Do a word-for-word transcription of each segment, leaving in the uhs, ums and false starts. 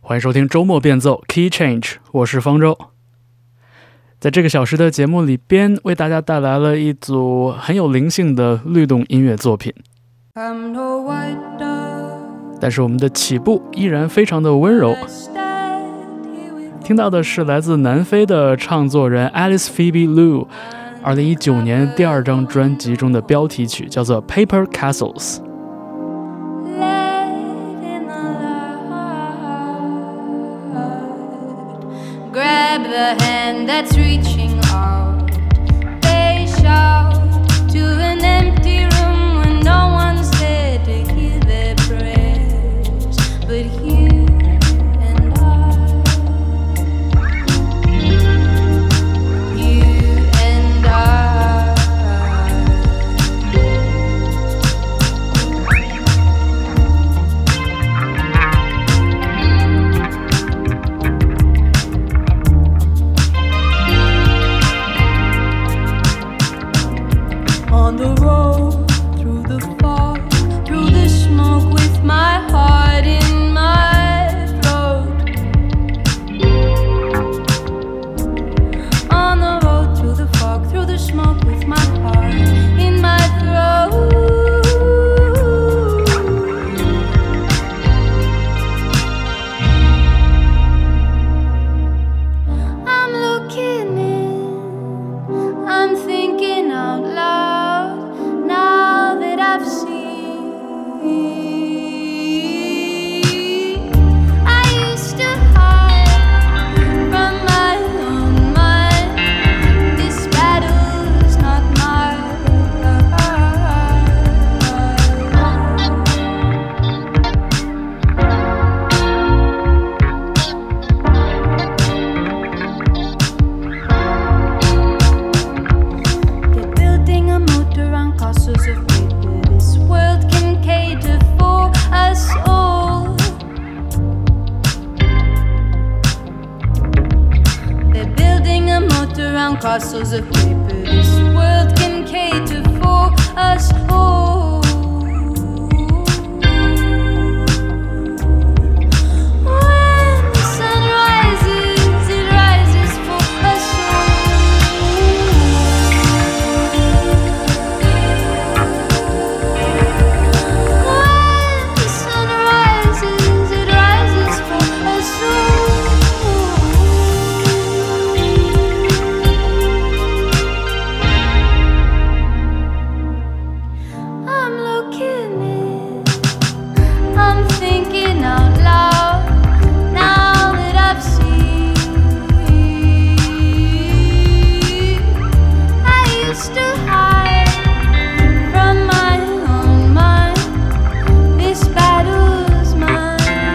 欢迎收听周末变奏 Key Change， 我是方舟。在这个小时的节目里边，为大家带来了一组很有灵性的律动音乐作品。但是我们的起步依然非常的温柔。听到的是来自南非的唱作人 Alice Phoebe Liu 二零一九年第二张专辑中的标题曲，叫做 Paper Castles。Grab the hand that's reaching out. They shout to an empty room when no one's there to hear their prayers, but you and I, you and I. On the road, through the fog, through the smoke, with my heart in my throat. On the road, through the fog, through the smoke, with my heart in my throat. I'm looking in, I'm thinking out loud.Now that I've seen, I used to hide from my own mind. This battle's not mine. They're building a moat around castles of paper. This world can cater for us all. They're building a moat around castles of paper. This world can cater for us all. When the sun rises, it rises for us all.When the sun rises, it rises for us all.I'm looking in, I'm thinking out loud. Now that I've seen, I used to hide from my own mind. This battle's mine.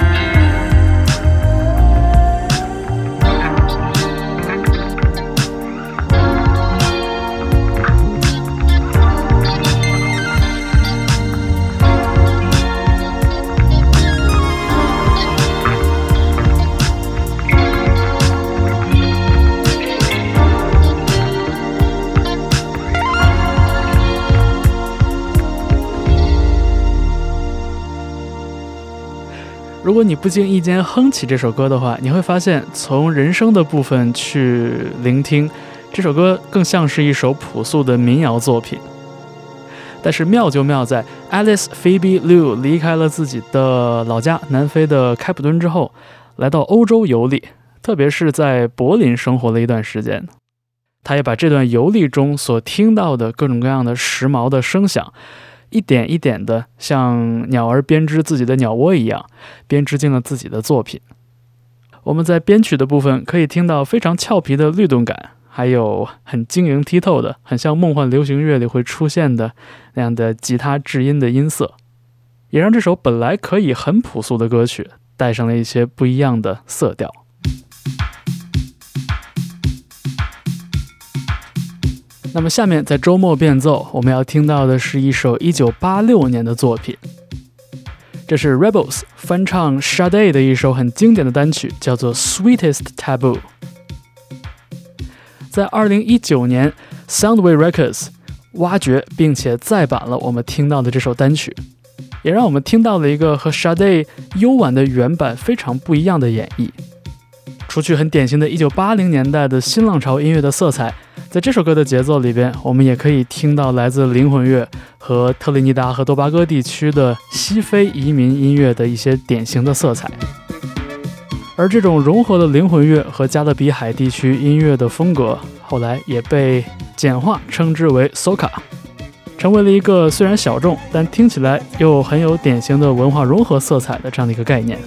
如果你不经意间哼起这首歌的话，你会发现从人声的部分去聆听，这首歌更像是一首朴素的民谣作品。但是妙就妙在 Alice Phoebe Liu 离开了自己的老家南非的开普敦之后，来到欧洲游历，特别是在柏林生活了一段时间。他也把这段游历中所听到的各种各样的时髦的声响，一点一点的像鸟儿编织自己的鸟窝一样，编织进了自己的作品。我们在编曲的部分可以听到非常俏皮的律动感，还有很晶莹剔透的，很像梦幻流行乐里会出现的那样的吉他制音的音色，也让这首本来可以很朴素的歌曲带上了一些不一样的色调。那么下面在周末变奏，我们要听到的是一首一九八六年的作品，这是 Rebels 翻唱 Sade 的一首很经典的单曲，叫做 Sweetest Taboo。 在二零一九年 Soundwave Records 挖掘并且再版了我们听到的这首单曲。 也让我们听到了一个和 Sade 幽婉的原版非常不一样的演绎。除去很典型的一九八零年代的新浪潮音乐的色彩，在这首歌的节奏里边，我们也可以听到来自灵魂乐和特立尼达和多巴哥地区的西非移民音乐的一些典型的色彩。而这种融合了灵魂乐和加勒比海地区音乐的风格，后来也被简化称之为 soca， 成为了一个虽然小众，但听起来又很有典型的文化融合色彩的这样的一个概念。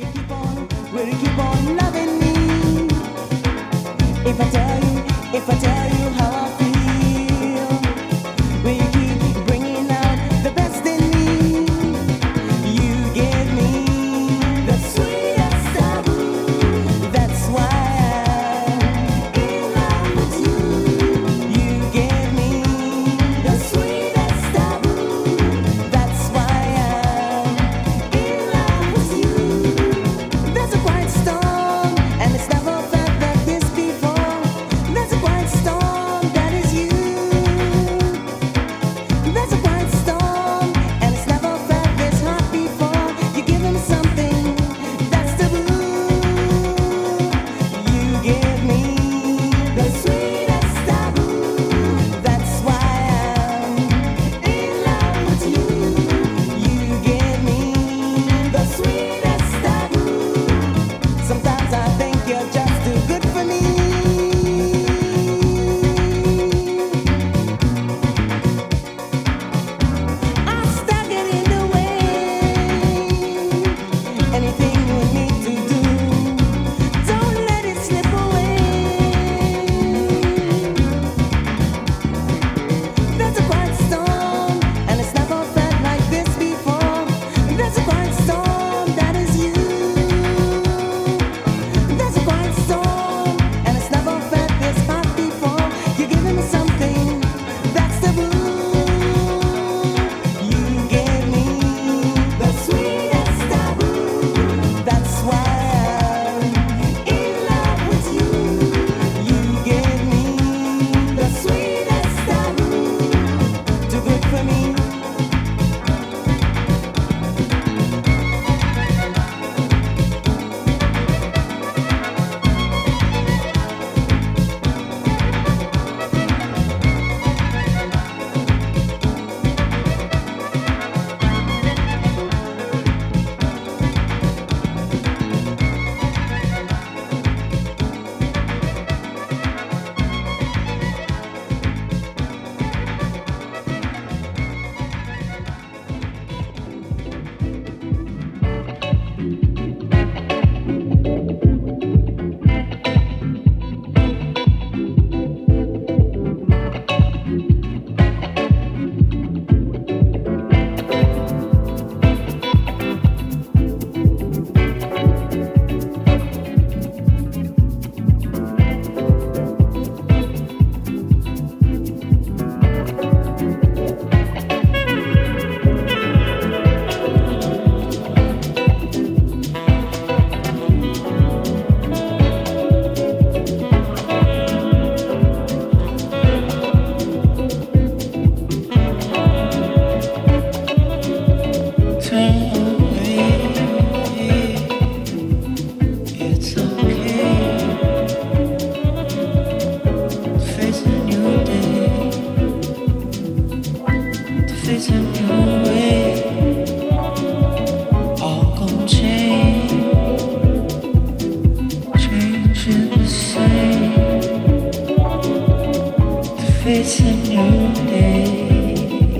It's a new day.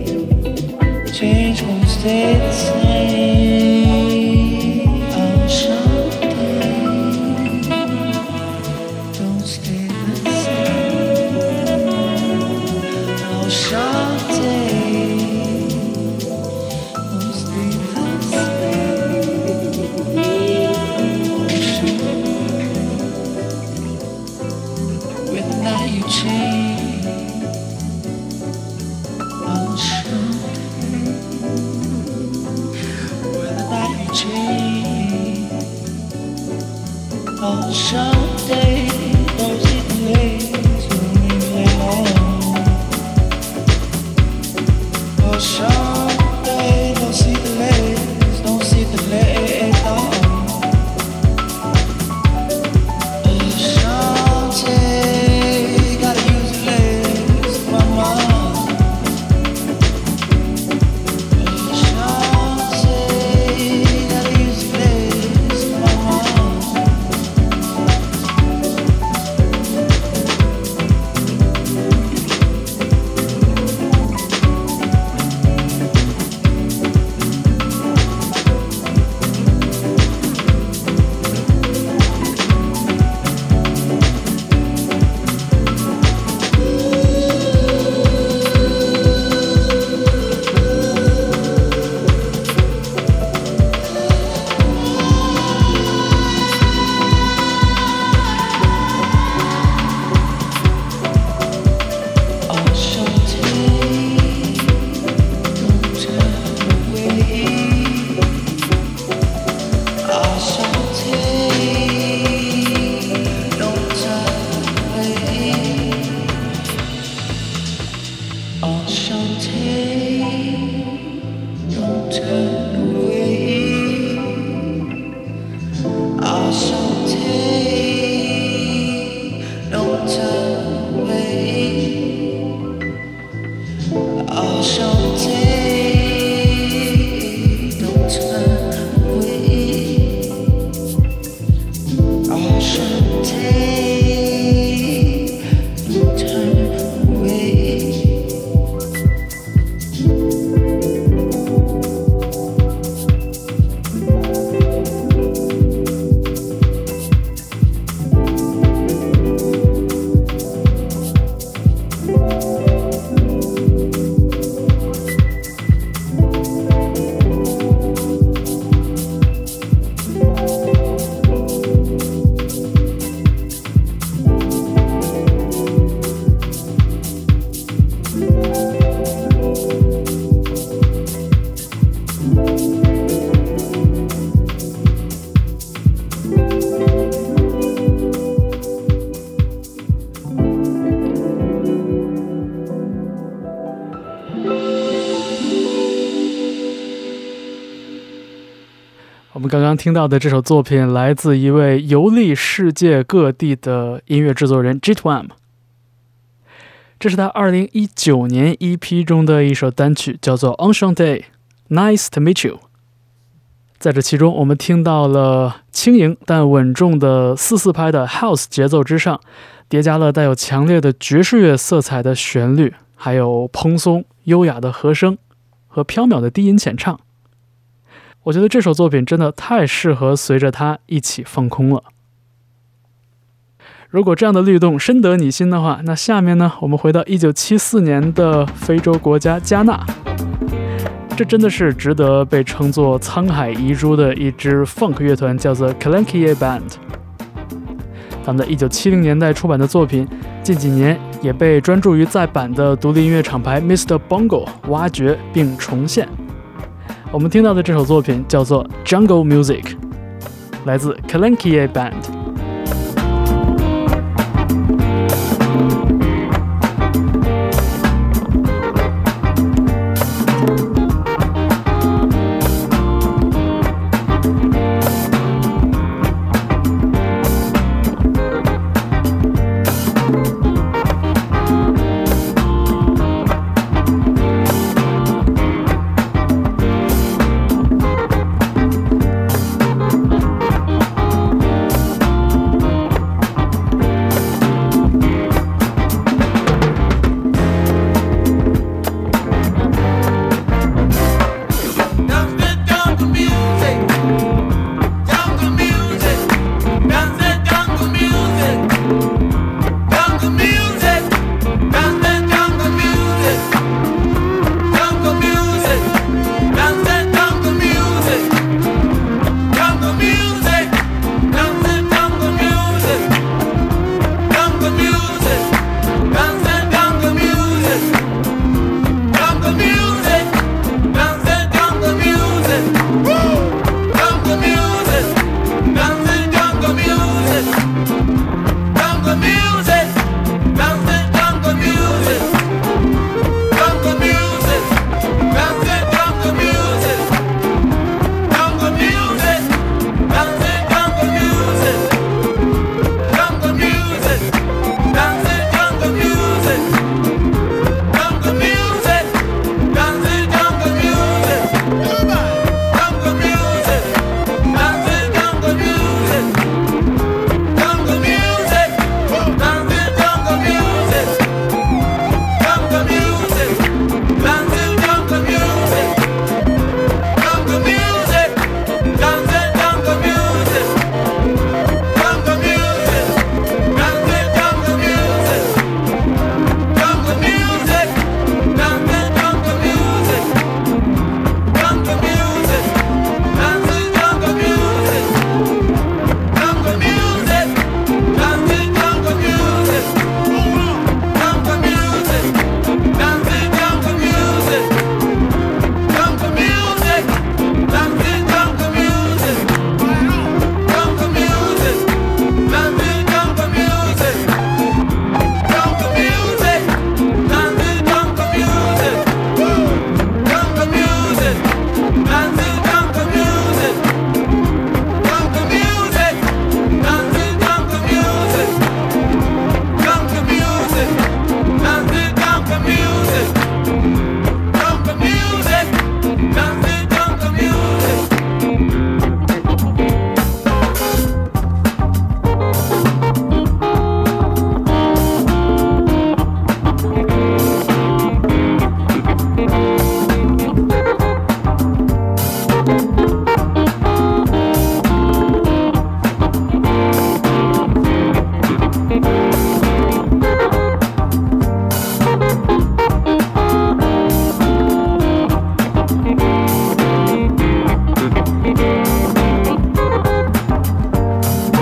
Change won't stay the same. Oh, someday don't stay the same. Oh, someday don't stay the same. With the night you change. Oh, someday, don't see the ways to leave me alone. Oh, someday, don't see the ways. hesitate and turn away. 我们刚刚听到的这首作品来自一位游历世界各地的音乐制作人 Jitwam， 这是他二零一九年 E P 中的一首单曲，叫做 Enchanté Nice to Meet You。 在这其中我们听到了轻盈但稳重的四四拍的 House 节奏之上，叠加了带有强烈的爵士乐色彩的旋律，还有蓬松优雅的和声和飘渺的低音浅唱。我觉得这首作品真的太适合随着它一起放空了。如果这样的律动深得你心的话，那下面呢，我们回到一九七四年的非洲国家加纳。这真的是值得被称作沧海遗珠的一支 funk 乐团，叫做 Kalankier Band。 他们在一九七零年代出版的作品，近几年也被专注于再版的独立音乐厂牌 Mister Bongo 挖掘并重现。我们听到的这首作品叫做 Jungle Music， 来自 Kalankier Band。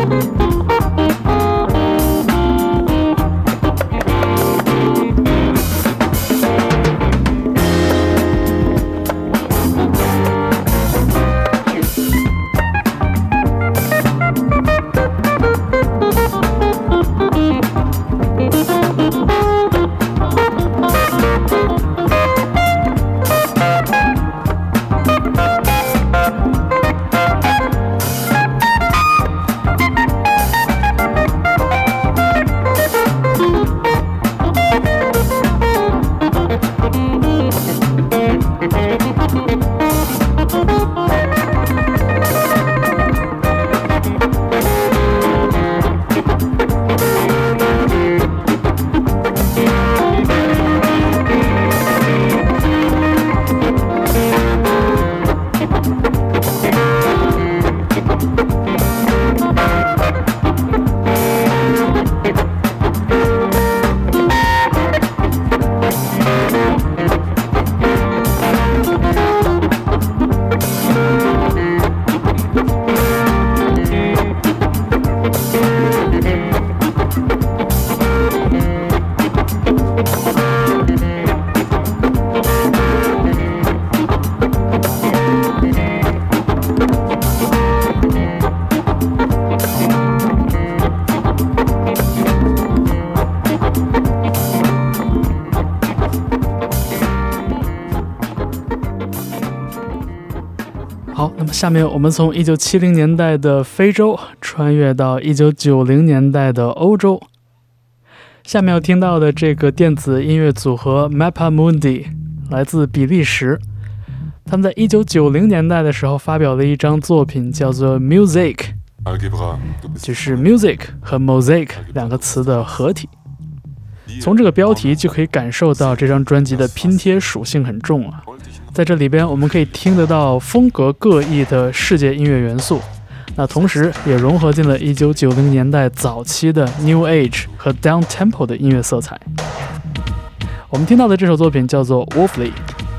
好，那么下面我们从一九七零年代的非洲穿越到一九九零年代的欧洲。下面要听到的这个电子音乐组合 Mappa Mundi 来自比利时，他们在一九九零年代的时候发表了一张作品叫做 Music， 就是 music 和 mosaic 两个词的合体。从这个标题就可以感受到这张专辑的拼贴属性很重啊。在这里边我们可以听得到风格各异的世界音乐元素，那同时也融合进了一九九零年代早期的 New Age 和 Down Tempo 的音乐色彩。我们听到的这首作品叫做 Wolfly，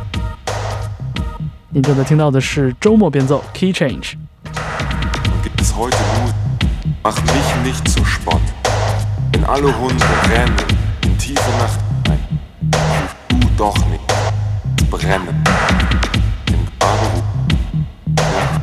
您正在听到的是周末变奏 Key Change。 Gibt es heute Mut? Mach mich nicht zu Spott. Wenn alle Hunde rennen in tiefe Nacht ein, du doch nicht brennen. Im Grabe ja.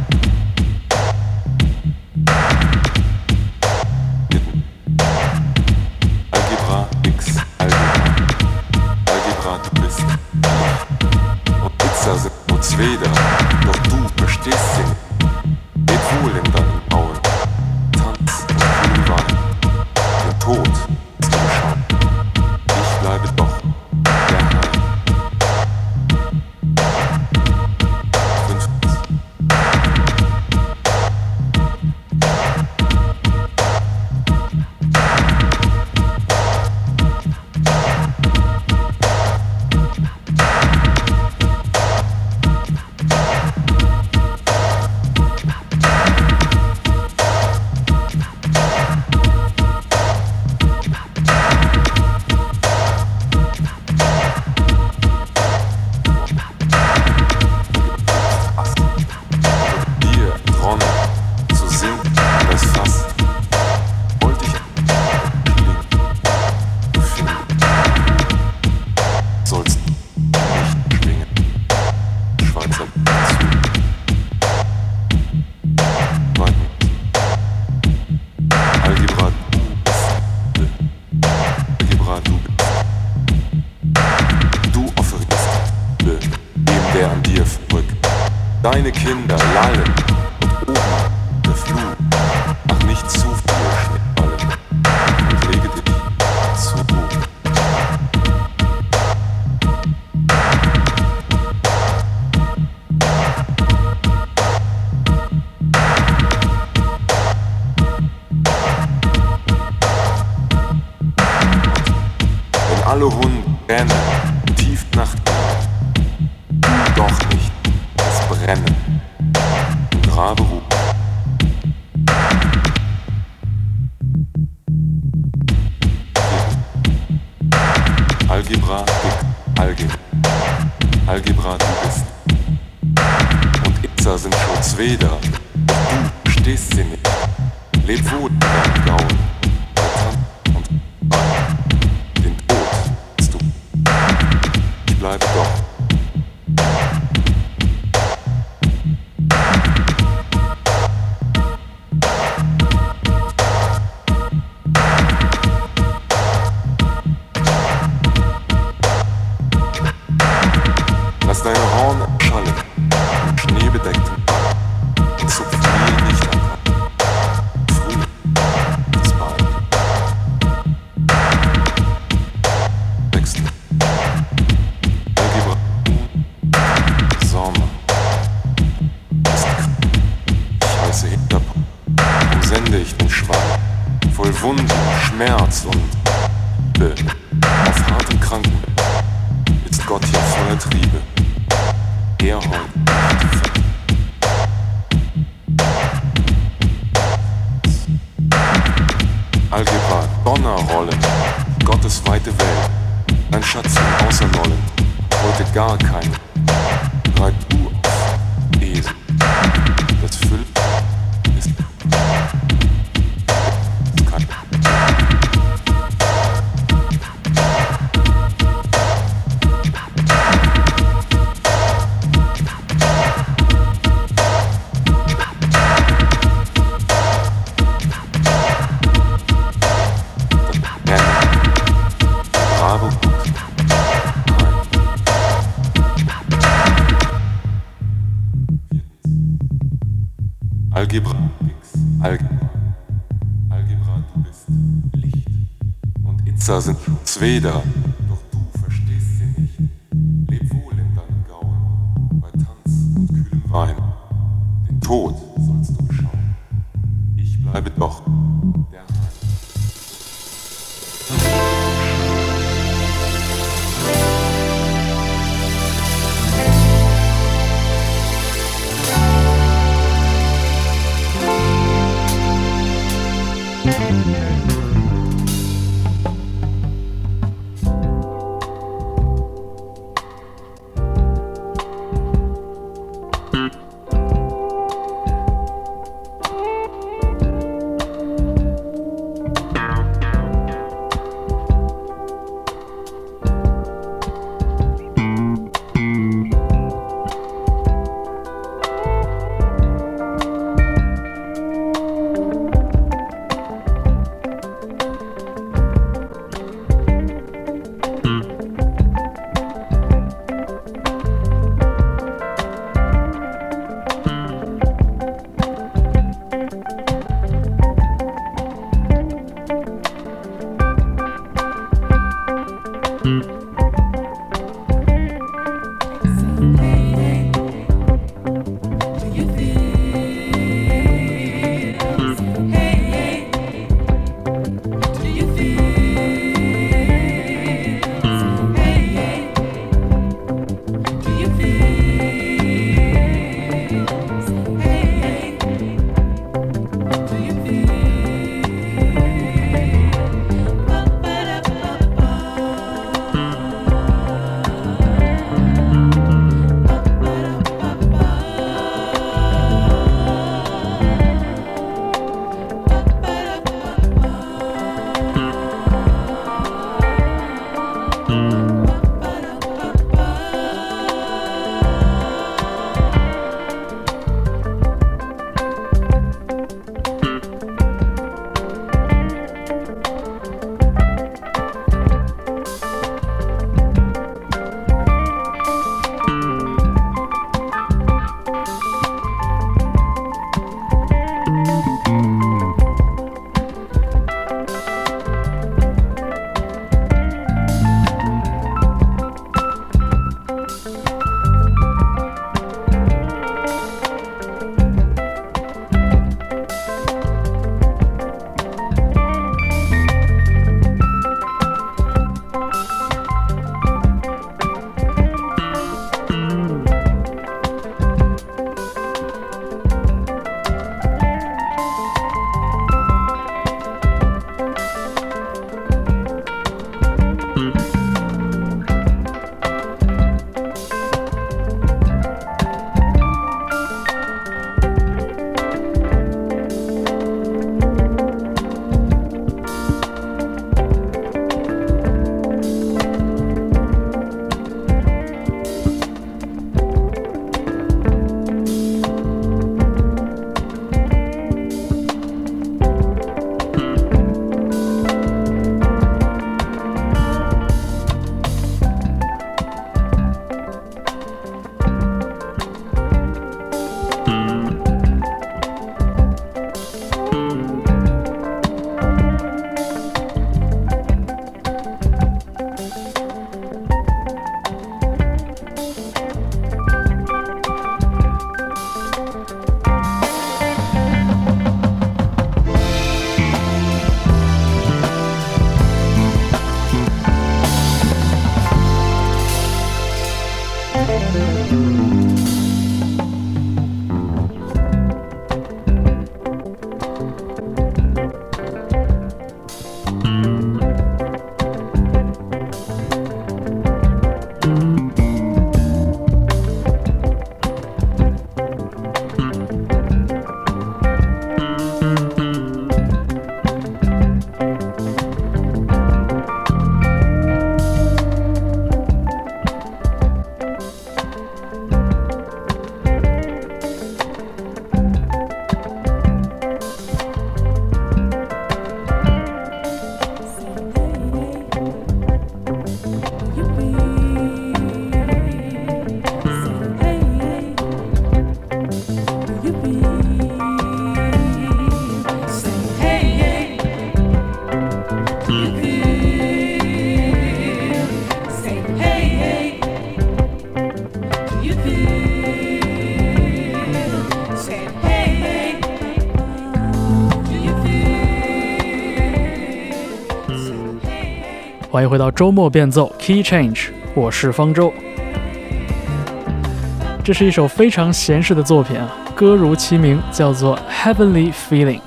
Mitten. Algebra X, Algebra. Algebra, du bist ich. Und Pizza sind nur zwei da, doch du verstehst sie nicht. Geht wohl in deinen Augen. Tanz und Kühlwein. Den Tod ist umschauen. Ich bleibe doch der Herr. Fünftens. Deine Kinder lallen und oben der Flug. Mach nicht zu viel Schnittballen und lege dich zu Ruhe. Wenn alle Hunde rennen, tief Nacht, doch nicht brennen, im Grabe ruhen. Algebra, dick, Algebra. Algebra, du bist. Und Itza sind schon zwei da. Du stehst sie nicht. Leb wohl wohl in deinem Gaul, bei Tanz und Wein. Den Tod willst du. Ich bleibe doch. Lass deine Horn schallen, im schneebedeckten Wald, und zupf mir nicht an. Früh ist bald. Wechsel. Algebra. Sommer. Ist krank. Ich heiße Hinterpunkt. Darum sende ich den Schwall. Voll Wunden, Schmerz und Liebe. Auf hartem Kranken ist Gott hier voller Triebe. Er heult nicht. Algebra, Donnerrollen, Gottes weite Welt, dein Schatz im Außernollen, heute gar kein. Reib du auf, Esel, das Füll ist, ist kein. Algebra, Algebra, Algebra, du bist Licht und Itza sind Zweder, doch du verstehst sie nicht. Leb wohl in deinem Gaul, bei Tanz und kühlem Wein. Den Tod sollst du beschauen. Ich bleibe doch der Heim. 欢迎回到周末变奏 Key Change， 我是方舟。这是一首非常闲适的作品啊，歌如其名，叫做 Heavenly Feeling。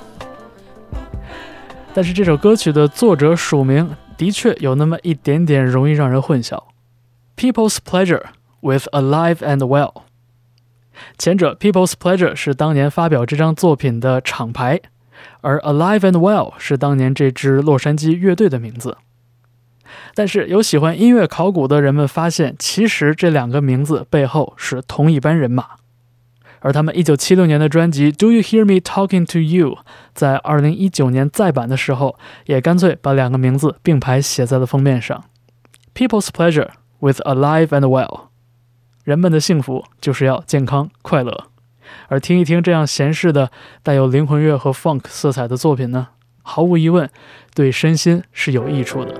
但是这首歌曲的作者署名的确有那么一点点容易让人混淆， People's Pleasure with Alive and Well。 前者 People's Pleasure 是当年发表这张作品的厂牌，而 Alive and Well 是当年这支洛杉矶乐队的名字。但是有喜欢音乐考古的人们发现，其实这两个名字背后是同一班人马。而他们一九七六年的专辑 Do You Hear Me Talking to You 在二零一九年再版的时候，也干脆把两个名字并排写在了封面上， People's Pleasure with Alive and Well。 人们的幸福就是要健康快乐。而听一听这样闲适的带有灵魂乐和 funk 色彩的作品呢，毫无疑问对身心是有益处的。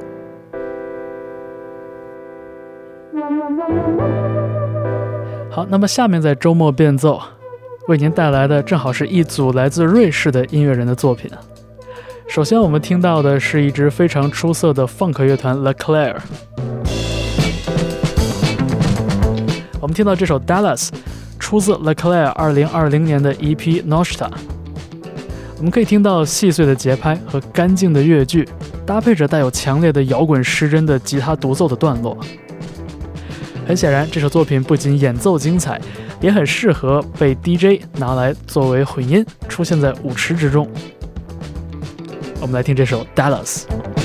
好，那么下面在周末变奏为您带来的正好是一组来自瑞士的音乐人的作品。首先我们听到的是一支非常出色的 funk 乐团 Leclair。 我们听到这首 Dallas 出自 Leclair 二零二零年的 E P Nostra。 我们可以听到细碎的节拍和干净的乐句，搭配着带有强烈的摇滚失真的吉他独奏的段落。很显然，这首作品不仅演奏精彩，也很适合被 D J 拿来作为混音，出现在舞池之中。我们来听这首 Dallas。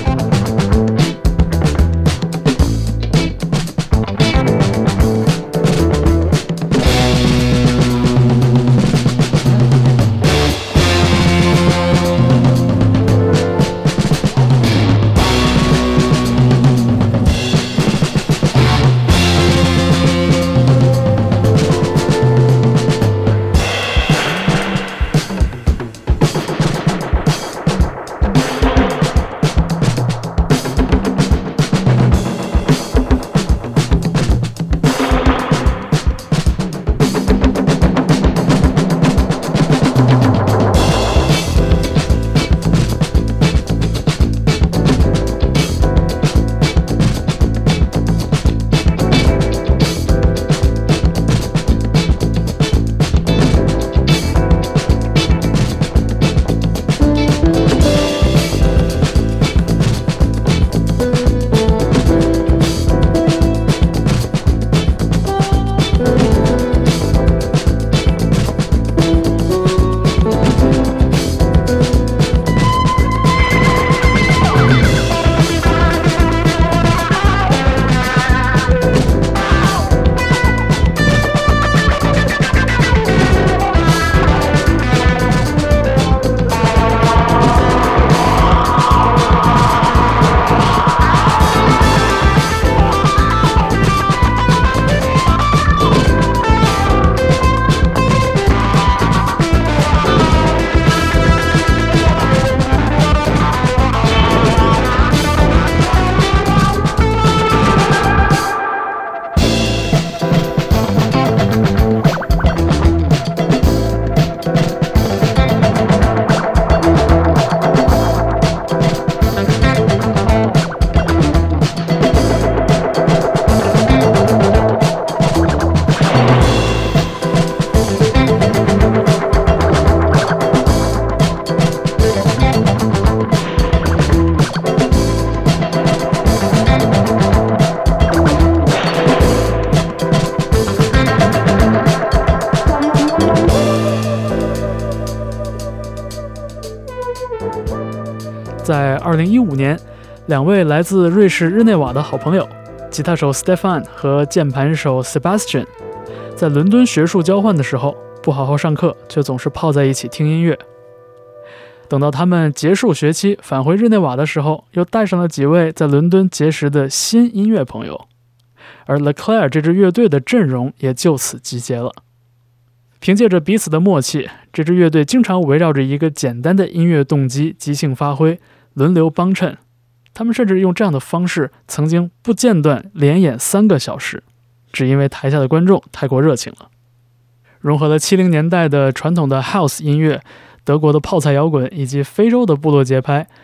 在二零一五年，两位来自瑞士日内瓦的好朋友，吉他手 Stefan 和键盘手 Sebastian， 在伦敦学术交换的时候，不好好上课，却总是泡在一起听音乐。等到他们结束学期返回日内瓦的时候，又带上了几位在伦敦结识的新音乐朋友，而 Leclair 这支乐队的阵容也就此集结了。凭借着彼此的默契，这支乐队经常围绕着一个简单的音乐动机即兴发挥，轮流帮衬。他们甚至用这样的方式曾经不间断连演三个小时，只因为台下的观众太过热情了。融合了七零年代的传统的 House 音乐、德国的泡菜摇滚以及非洲的部落节拍，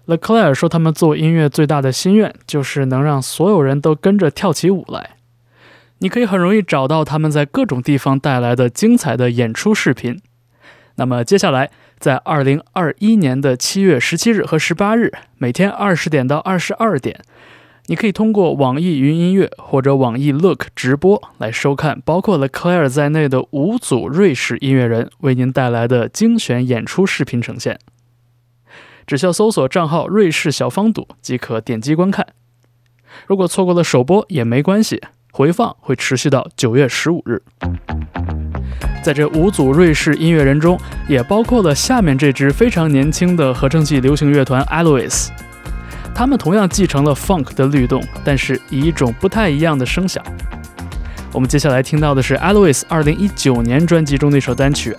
Leclerc 说他们做音乐最大的心愿就是能让所有人都跟着跳起舞来。你可以很容易找到他们在各种地方带来的精彩的演出视频。那么接下来在二零二一年的七月十七日和十八日，每天二十点到二十二点，你可以通过网易云音乐或者网易 Look 直播来收看包括 Leclerc 在内的五组瑞士音乐人为您带来的精选演出视频呈现。只需要搜索账号瑞士小方赌即可点击观看。如果错过了首播也没关系，回放会持续到九月十五日。在这五组瑞士音乐人中，也包括了下面这支非常年轻的合成器流行乐团 Alois。 他们同样继承了 funk 的律动，但是以一种不太一样的声响。我们接下来听到的是 Alois 二零一九年专辑中的一首单曲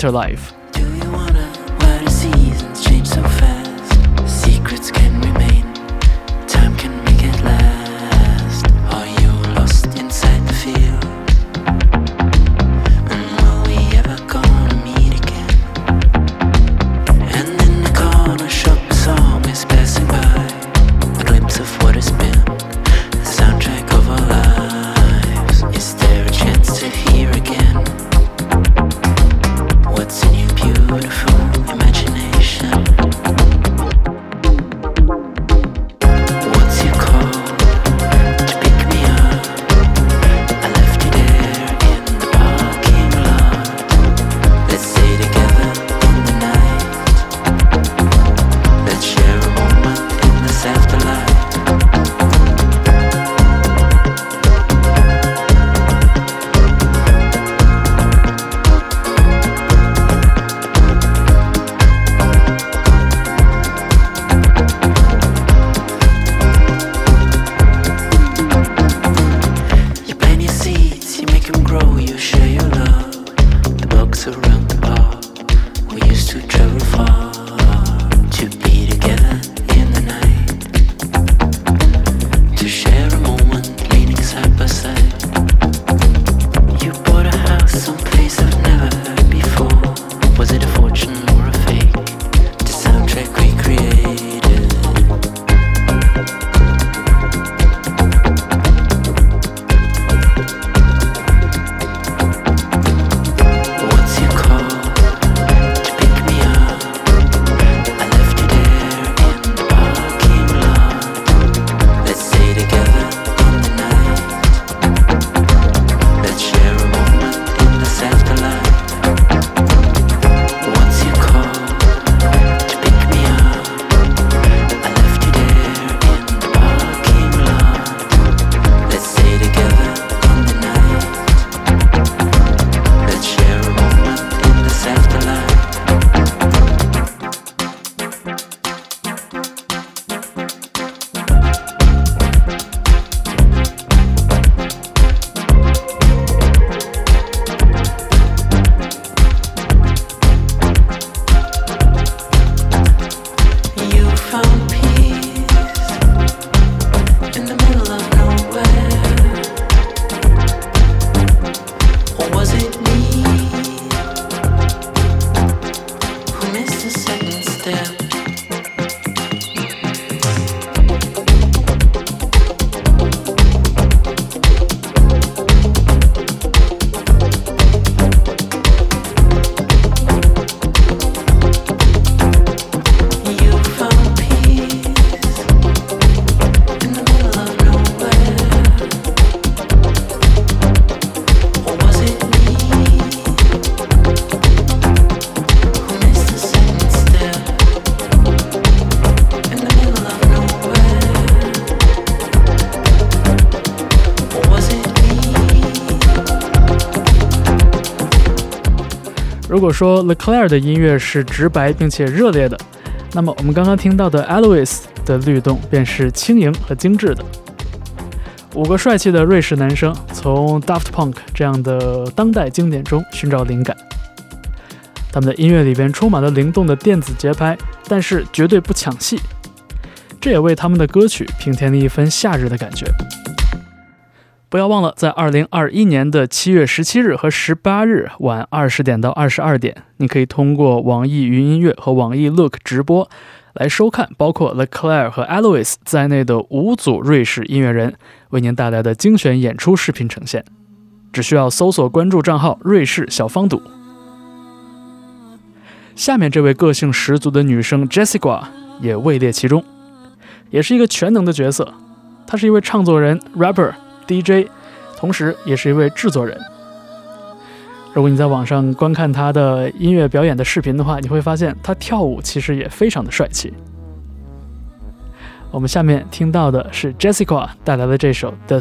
Alois。 如果说 Leclerc 的音乐是直白并且热烈的，那么我们刚刚听到的 Alois 的律动便是轻盈和精致的。五个帅气的瑞士男生从 Daft Punk 这样的当代经典中寻找灵感，他们的音乐里边充满了灵动的电子节拍，但是绝对不抢戏，这也为他们的歌曲平添了一分夏日的感觉。不要忘了，在二零二一年的七月十七日和十八日晚二十点到二十二点，你可以通过网易云音乐和网易 Look 直播来收看包括 Leclerc 和 Alois 在内的五组瑞士音乐人为您带来的精选演出视频呈现。只需要搜索关注账号瑞士小方赌。下面这位个性十足的女生 Jessica 也位列其中，也是一个全能的角色。她是一位唱作人、rapper、D J， 同时也是一位制作人。如果你在网上观看她的音乐表演的视频的话，你会发现她跳舞其实也非常的帅气。我们下面听到的是 Jessica 带来的这首 The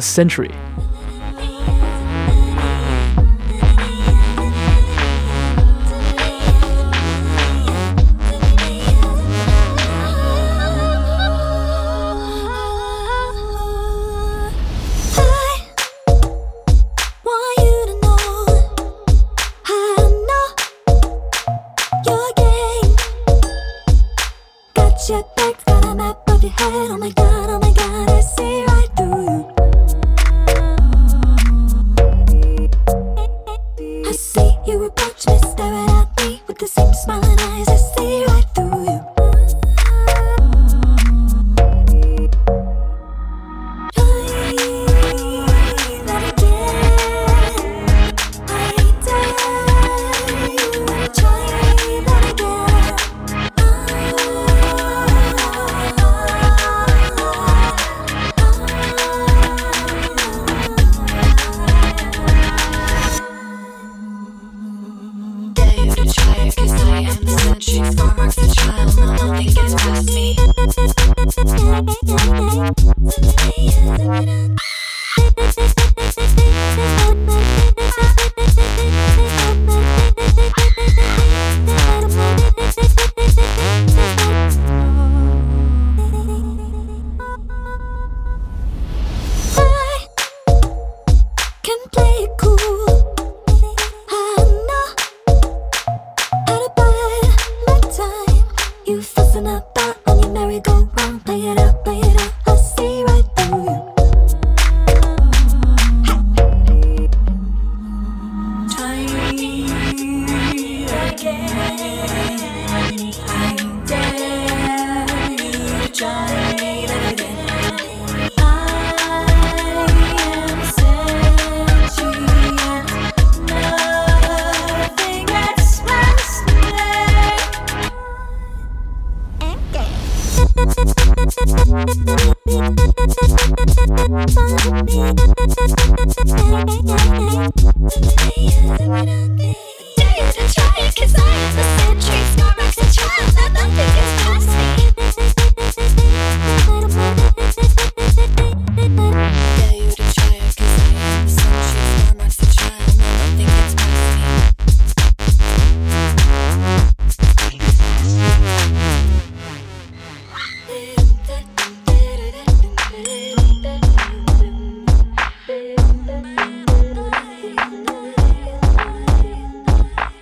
Century。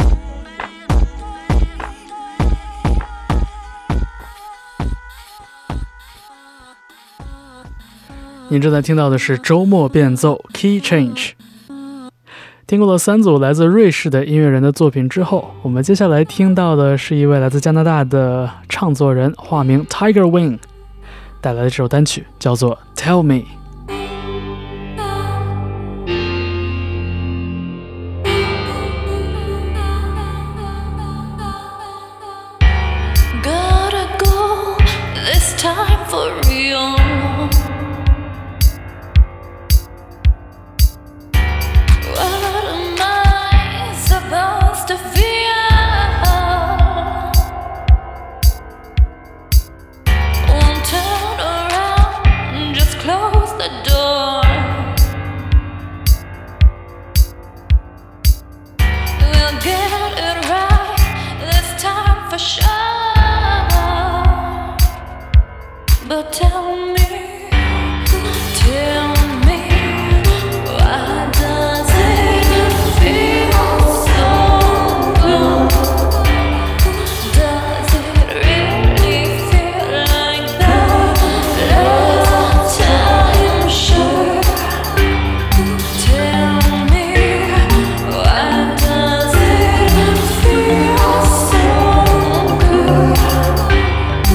您正在听到的是周末变奏 Key Change。 听过了三组来自瑞士的音乐人的作品之后，我们接下来听到的是一位来自加拿大的唱作人，化名 Tiger Wing 带来的这首单曲叫做 Tell Me。Gotta go this time for real. What am I supposed to feel? Won't turn around, just close the door. We'll get it right this time for sure. But tell me, tell me, why does it feel so good? Does it really feel like that last time? Sure. Tell me, why does it feel so good?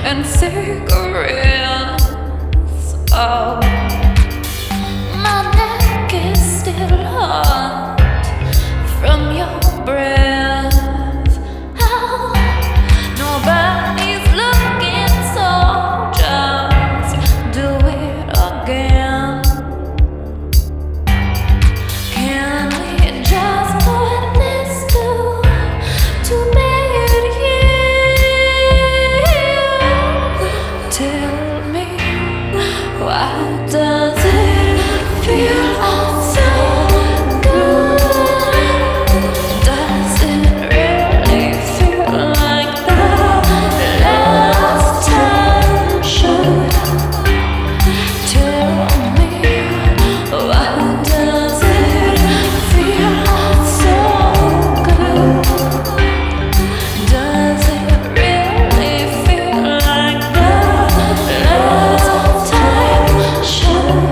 and cigarettes. Oh, my neck is still hot from your breath. Oh, nobody's looking, so just do it again. Can we just put this to to bed here? Tell me, why does it feel so good? Does it really feel like the last time? Should tell me, why does it feel so good? Does it really feel like the last time? Should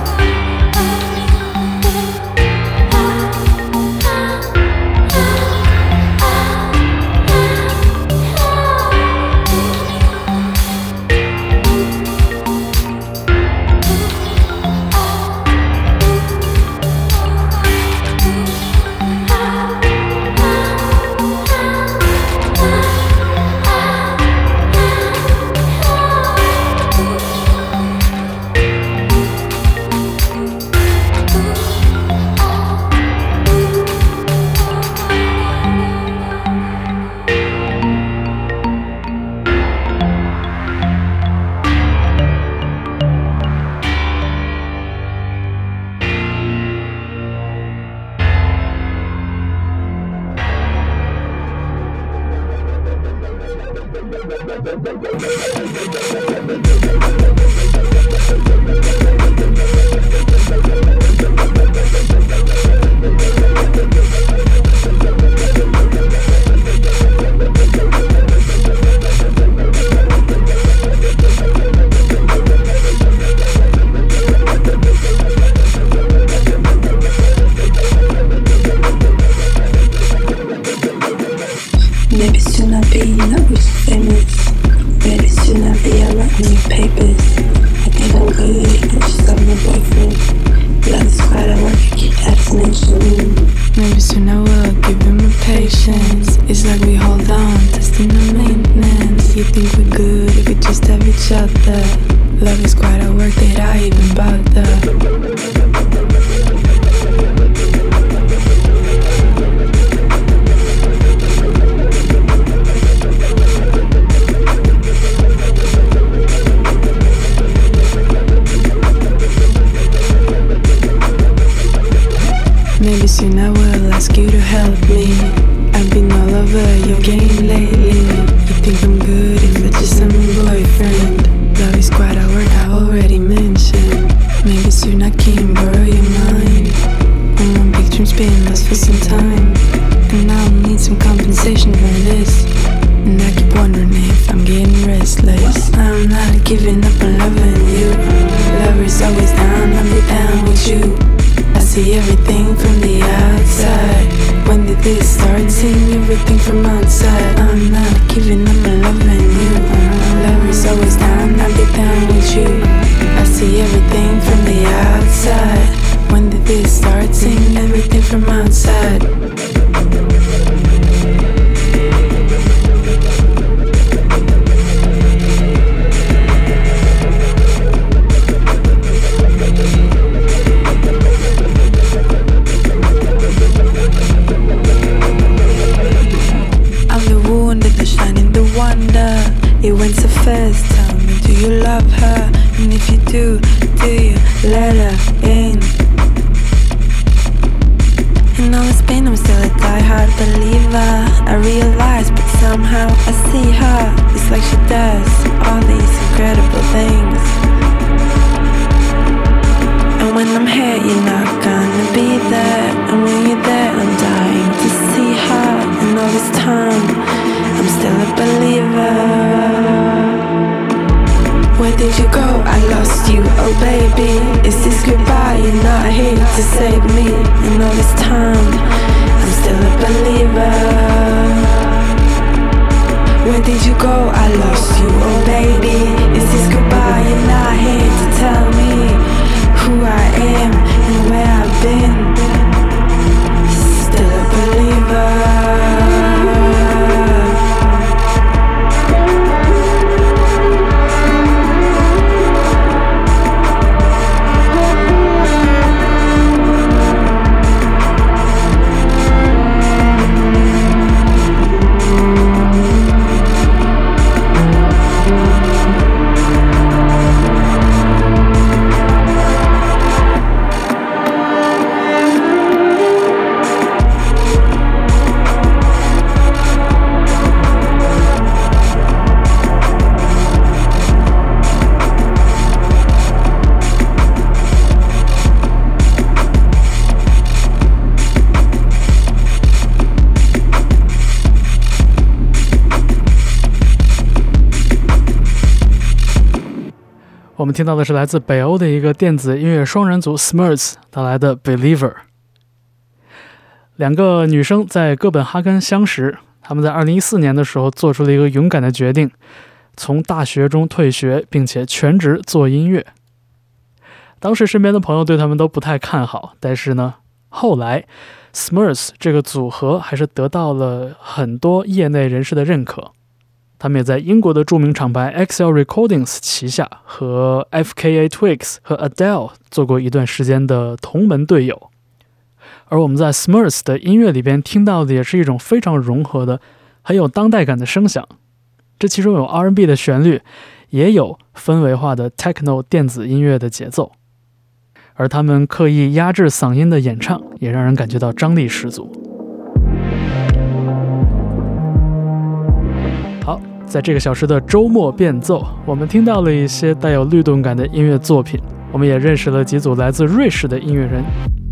maybe soon I'll be not rich famous. Maybe soon I'll be out writing new papers. I think I'm good, I just got my boyfriend. Love is quite a work, I keep abstinence. Maybe soon I will give him a patience. It's like we hold on, testing the maintenance. You think we're good if we just have each other. Love is quite a work that I even bother. Maybe soon I will ask you to help me. I've been all over your game lately. You think I'm good if I just am a boyfriend. Love is quite a word I already mentioned. Maybe soon I can borrow your mind. I'm on big dreams being lost for some time, and I'll need some compensation for this. And I keep wondering if I'm getting restless. I'm not giving up on loving you. Lover's always down, I'll be down with you. I see everything from the outside. When did this start? Seeing everything from outside. I'm not giving up on loving you. Lover's always down, I'll be down with you. I see everything from the outside. When did this start? Seeing everything from outside. It went so fast, tell me, do you love her? And if you do, do you let her in? In all this pain, I'm still a die-hard believer. I realize, but somehow I see her. It's like she does all these incredible things. And when I'm here, you're not gonna be there. And when you're there, I'm dying to see her. And all this time, I'm still a believer. Where did you go? I lost you, oh baby. Is this goodbye? You're not here to save me. And all this time, I'm still a believer. Where did you go? I lost you, oh baby. 我们听到的是来自北欧的一个电子音乐双人组 Smurfs 带来的 Believer。 两个女生在哥本哈根相识，她们在二零一四年的时候做出了一个勇敢的决定，从大学中退学，并且全职做音乐。当时身边的朋友对他们都不太看好，但是呢，后来 Smurfs 这个组合还是得到了很多业内人士的认可。他们也在英国的著名厂牌 X L Recordings 旗下和 F K A Twigs 和 Adele 做过一段时间的同门队友。而我们在 Smurfs 的音乐里边听到的也是一种非常融合的很有当代感的声响，这其中有 R and B 的旋律，也有氛围化的 Techno 电子音乐的节奏，而他们刻意压制嗓音的演唱也让人感觉到张力十足。好，在这个小时的周末变奏，我们听到了一些带有律动感的音乐作品，我们也认识了几组来自瑞士的音乐人。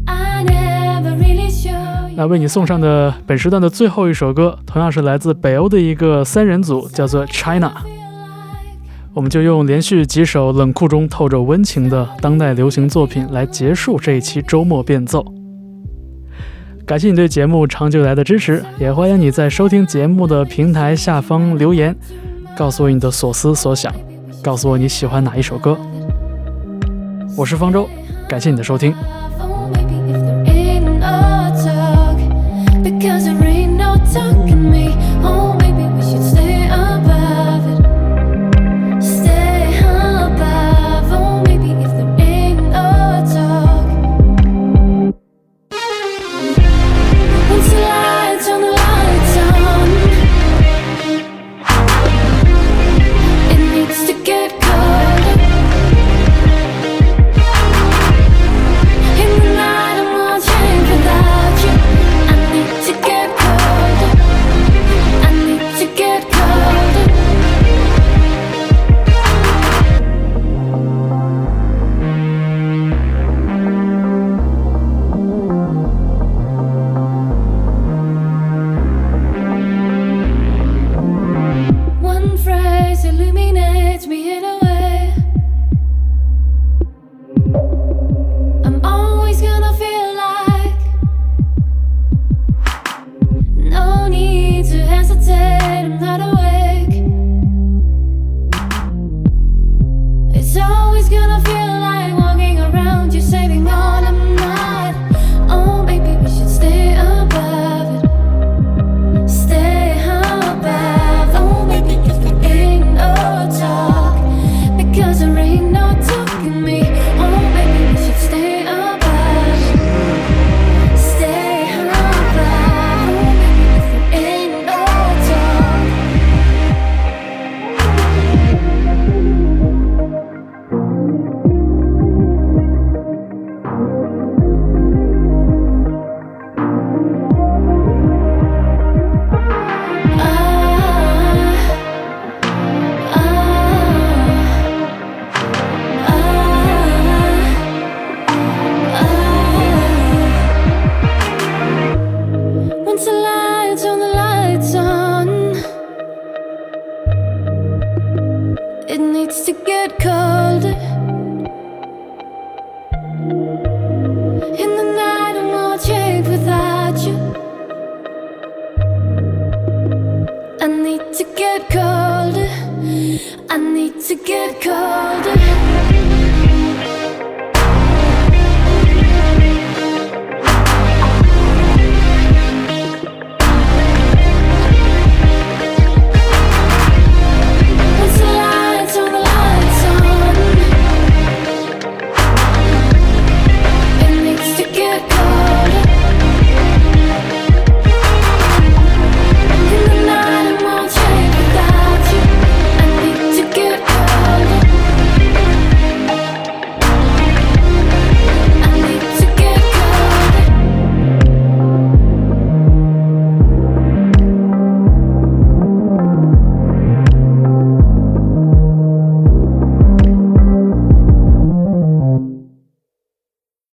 那为你送上的本时段的最后一首歌，同样是来自北欧的一个三人组，叫做 China。 我们就用连续几首冷酷中透着温情的当代流行作品来结束这一期周末变奏。感谢你对节目长久以来的支持，也欢迎你在收听节目的平台下方留言，告诉我你的所思所想，告诉我你喜欢哪一首歌。我是方舟，感谢你的收听。 Because there ain't no talking me. Oh, maybe we should stay above it. Stay above. Oh, maybe if there ain't no talk. Once the lights on, the lights on, it needs to get colder. In the night I'm watching without you. To get colder, I need to get colder. One phrase illuminates me in a way I'm always gonna feel like. No need to hesitate, I'm not awake. It's always gonna feel like walking around you, saving all I'm not. Oh, maybe we should stay above it. Stay above. Oh, maybe if there ain't no talk, because there ain't no talking me. Oh, maybe we should stay above. Stay above. Ain't no talk. Once the lights on, the lights on, it needs to get colder. In the night I'm watching without you. I need to get colder. I need to get colder.